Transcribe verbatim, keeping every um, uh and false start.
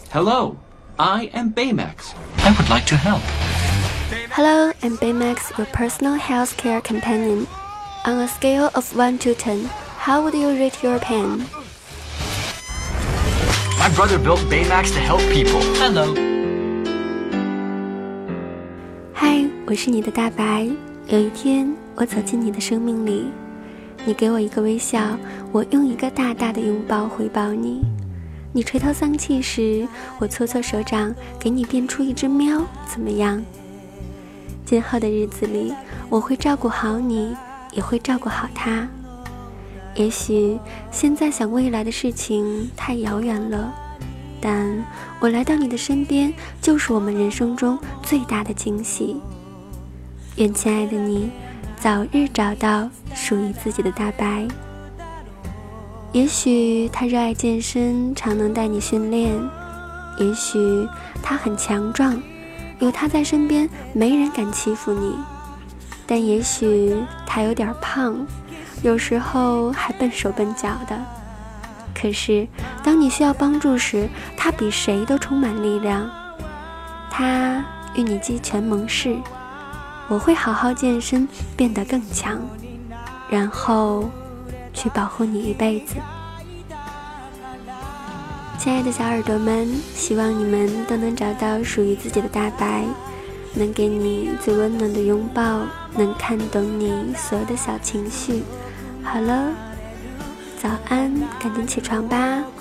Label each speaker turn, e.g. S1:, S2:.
S1: Hello, I am Baymax. I would like to help.
S2: Hello, I'm Baymax, your personal healthcare companion. On a scale of one to ten, how would you rate your pain?
S3: My brother built Baymax to help people.
S1: Hello.
S2: 嗨，我是你的大白。有一天，我走进你的生命里，你给我一个微笑，我用一个大大的拥抱回报你。你垂头丧气时，我搓搓手掌，给你变出一只喵，怎么样？今后的日子里，我会照顾好你，也会照顾好他。也许现在想未来的事情太遥远了，但我来到你的身边，就是我们人生中最大的惊喜。愿亲爱的你，早日找到属于自己的大白。也许他热爱健身，常能带你训练；也许他很强壮，有他在身边，没人敢欺负你。但也许他有点胖，有时候还笨手笨脚的。可是当你需要帮助时，他比谁都充满力量。他与你鸡拳盟誓，我会好好健身，变得更强，然后去保护你一辈子。亲爱的小耳朵们，希望你们都能找到属于自己的大白，能给你最温暖的拥抱，能看懂你所有的小情绪。好了，早安，赶紧起床吧。